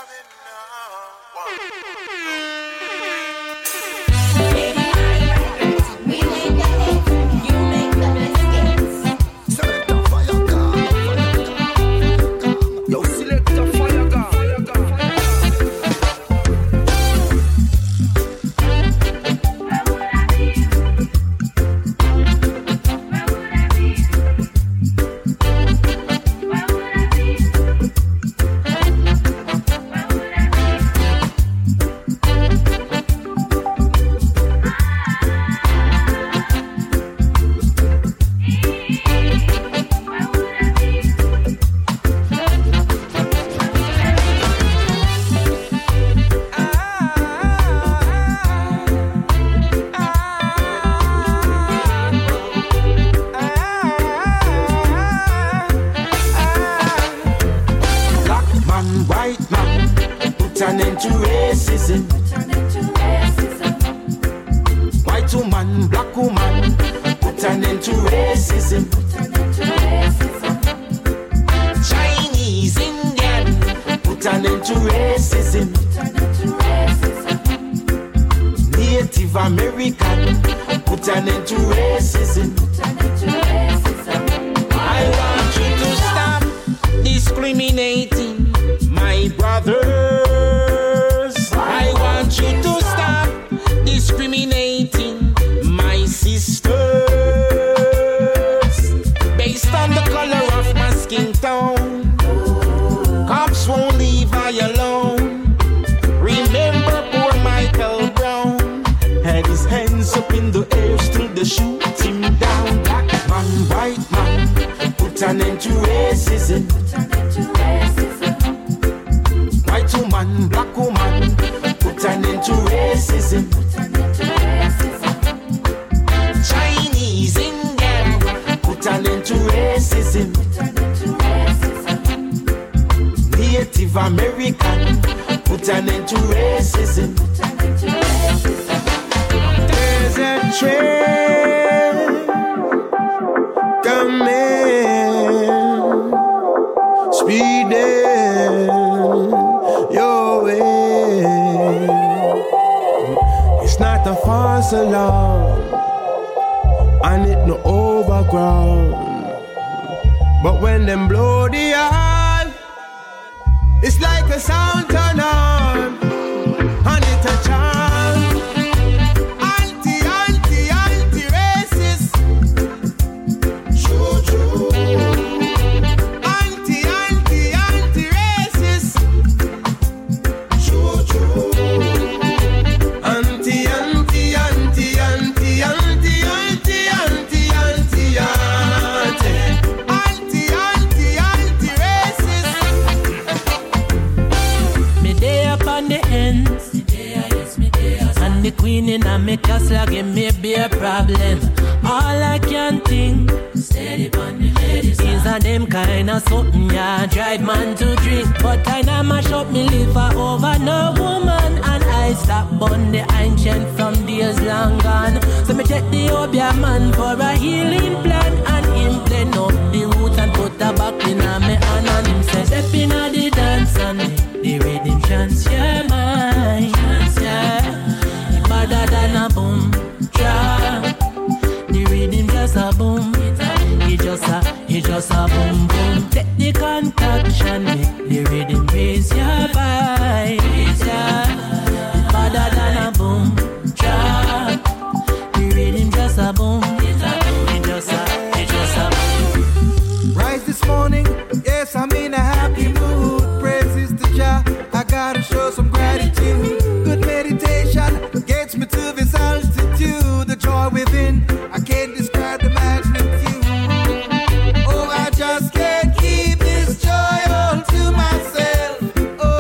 Oh, I just can't keep this joy all to myself. Oh,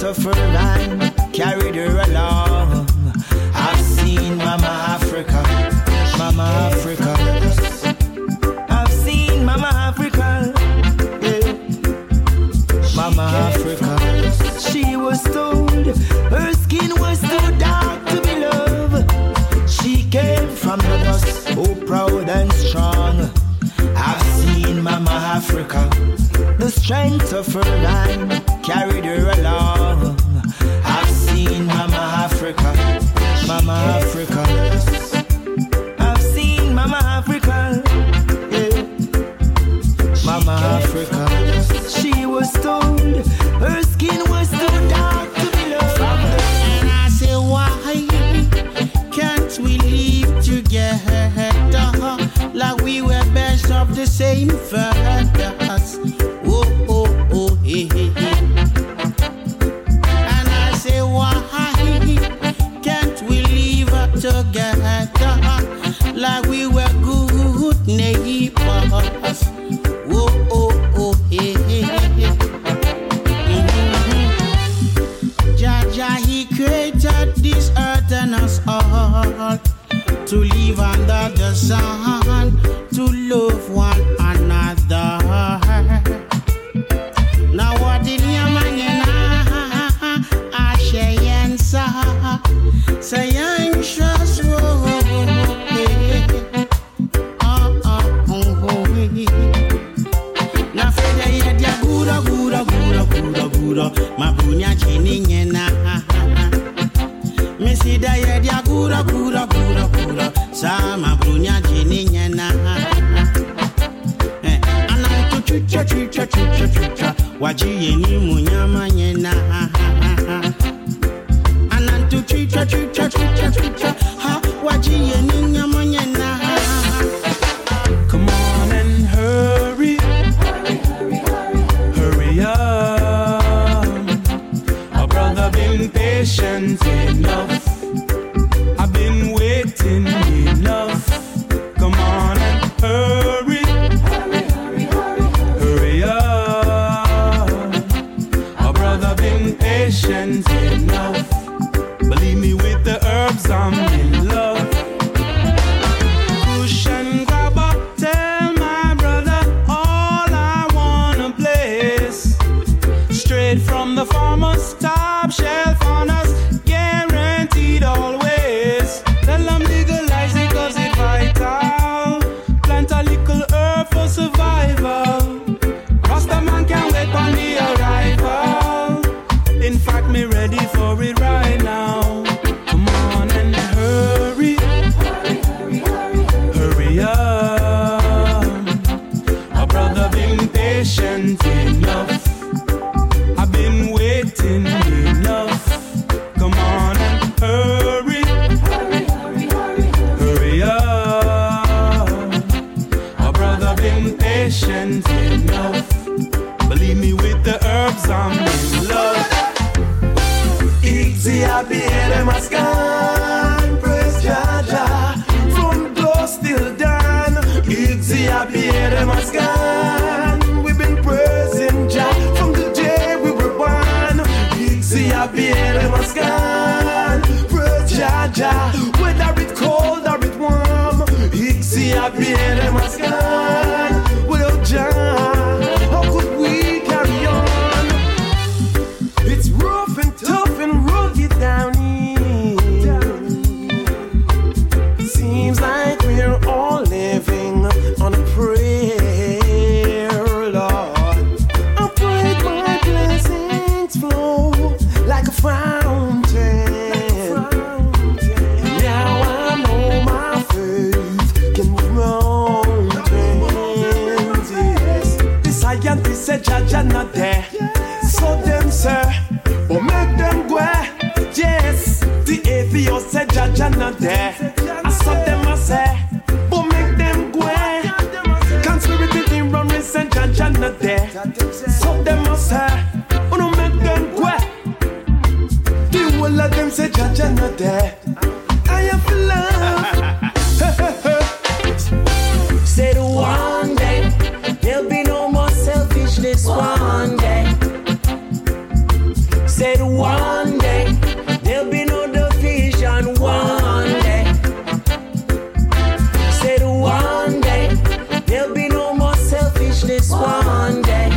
of her line carried her along. I've seen Mama Africa, Mama Africa. I've seen Mama Africa, yeah. Mama Africa. She was told her skin was too dark to be loved. She came from the dust, so proud and strong. I've seen Mama Africa. The strength of her line carried her along. I've seen Mama Africa, Mama Africa. I've seen Mama Africa, yeah. Mama Africa. She was told her skin was too dark to be loved. And I say, why can't we live together like we were best of the same fathers? Oh, oh, oh, hey, hey, hey. And I say, why can't we live together like we were good neighbors? Oh, oh, oh, hey, hey, hey. Jaja, he created this earth and us all to live under the sun, to love one another. Now what did you mean? I say anxious na fede ya dia gura mabunya chini nyena misida ya dia gura sa mabunya chini nyena anantu chucha wajiye ni munyama nyena anantu chucha ha wajiye ni nyama nyena. Come on and hurry up. My brother been patient enough. I've been waiting enough. Come on and hurry up. My brother been patient enough. Believe me, with the herbs I'm in love. Push and grab up, tell my brother all I wanna place. Straight from the farmer's top shelf on us, guaranteed always. Tell them legalize it 'cause it's vital. Plant a little herb for survival. Rasta man can't wait on the arrival. In fact, me ready for it right now. Come on and hurry up. My brother been patient enough. I've been waiting enough. Come on and hurry up. My brother been patient enough. Believe me, with the herbs I'm in love. Easy happy head mascan, praise Jaja, from dusk till dawn. Easy happy head mascan, we've been praising Jah from the day we were born. Easy happy head mascan, praise Jaja, whether it cold or it warm. Easy happy head mascan, without Jah, how could we carry on? It's rough and tough and rugged down here. Seems like we're all living on a prayer, Lord. I pray my blessings flow like a fountain. Now I know my faith can move mountains. Yes. The scientists say Jaja not there, so them sir. But make them go, yes. The atheist said Jaja not there. I saw them I say, but make them go. Conspiracy in run race and Jaja not there. So them I say, oh no make them go. The whole of them say Jaja not there. I have love. Said one day there'll be no more selfishness. One day. Said one day there'll be no division. One day. Said one day there'll be no more selfishness. One day.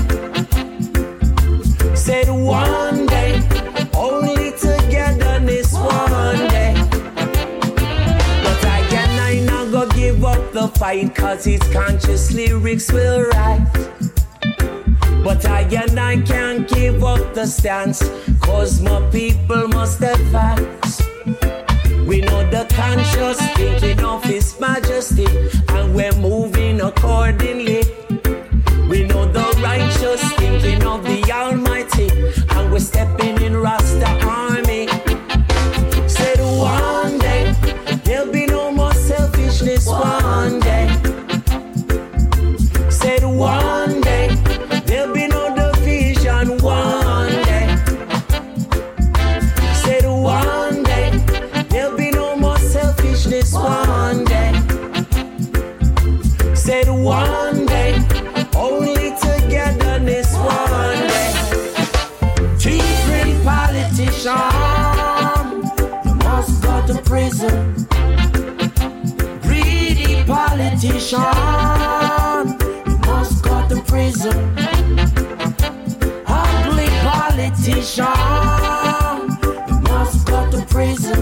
Said one day only togetherness. One day. But I not go give up the fight, cause his conscious lyrics will write. But I can't give up the stance, cause my people must advance. We know the conscious thinking of His Majesty, and we're moving accordingly. We know the righteous thinking of the Almighty, and we're stepping in Rasta army. Said one day there'll be no more selfishness. One day. Said one day there'll be no division. One day. Said one day there'll be no more selfishness. One day. Said one day only togetherness. One day. Different politicians, you must go to prison. Greedy politician, you must go to prison. Ugly politician, you must go to prison.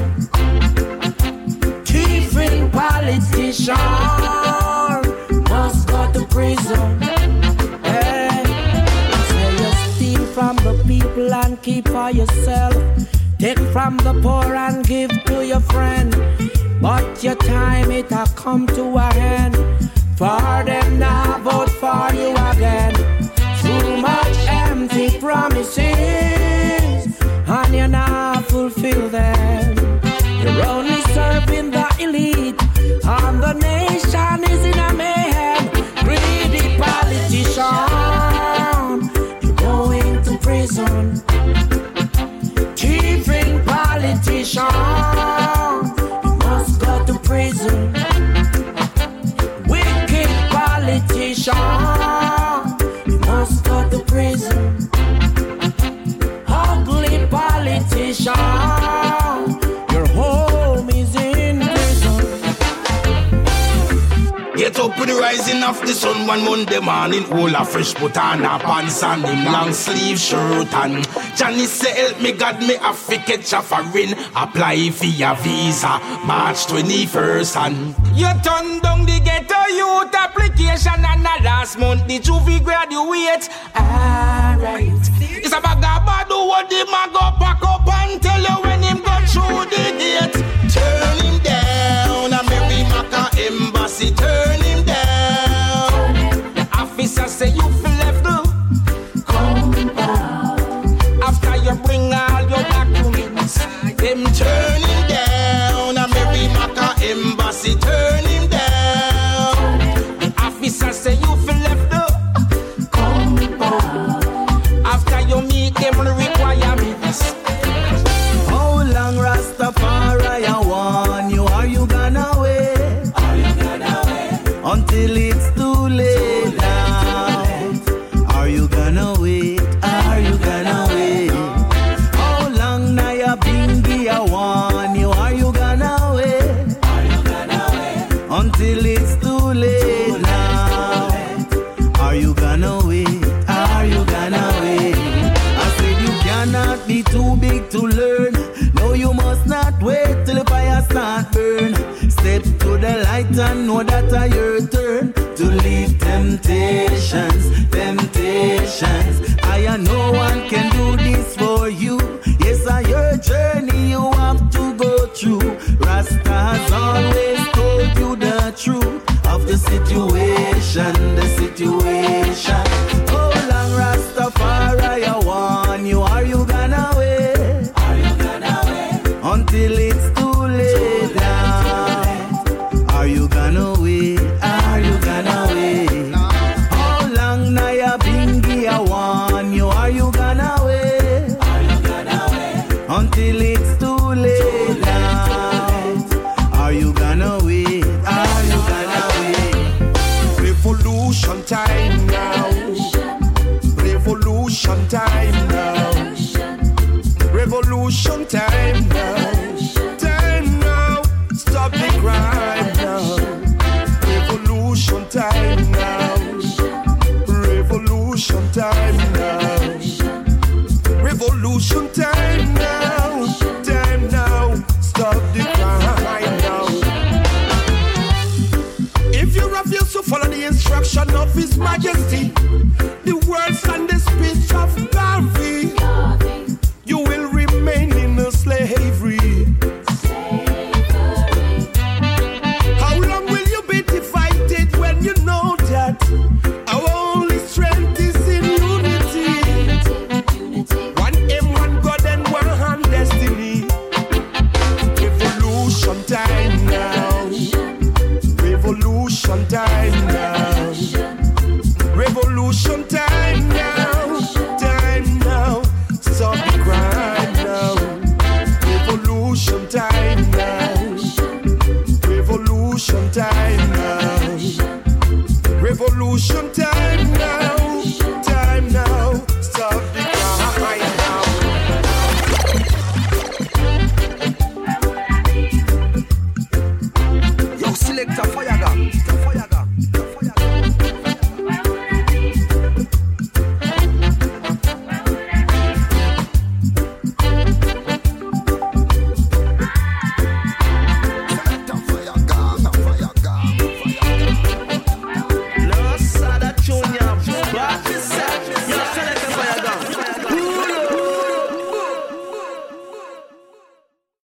Different politician, must go to prison. Hey, say you steal from the people and keep for yourself. Take from the poor and give to your friend. But your time it a come to a end. For them now vote for you again. Too much empty promises, and you now fulfill them. You're only serving the elite, and the nation is in a mayhem. Greedy politician, you're going to prison. Thieving politician, you must go to prison. Wicked politician, you must go to prison. Ugly politician, your home is in prison. Get up with the rising of the sun one Monday morning. All a fresh butana pants and him long sleeve shirt. And Johnny say help me God me have to catch a foreign. Apply for your visa March 21st. And you turn down the ghetto youth application, and the last month the juvie graduate. Alright, it's a bag of bad what the man go pack up and tell you when him go through the gate. Turn him down, a Mary Maca embassy. Turn him down. The officer say you feel left the compound. After you bring all your documents, them turn him down, a Mary Maca embassy. Turn him down. The officer say you feel left the compound. After you meet them requirements. How long Rastafari I want you? Are you gonna wait? Are you gonna wait until it's too late now? Are you gonna wait? Are you gonna wait? How long now you bingy I want you? Are you gonna wait? Are you gonna wait until it's too late now? Are you gonna wait? Are you gonna wait? I said you cannot be too big to learn. No, you must not wait till the fire start burn. Step to the light and know that I your turn to leave temptations. I no one can do this for you. Yes, I your journey you have to go through. Rasta has always told you the truth of the situation. Oh, long Rastafari, I want you. Are you gonna wait? Are you gonna wait until it's too late now? Are you gonna wait? Are you gonna wait? How long now you bingy I want you? Are you gonna wait? Are you gonna wait until it's too late now? Are you gonna wait? Are you gonna wait? Revolution time now. Revolution time now. revolution time now.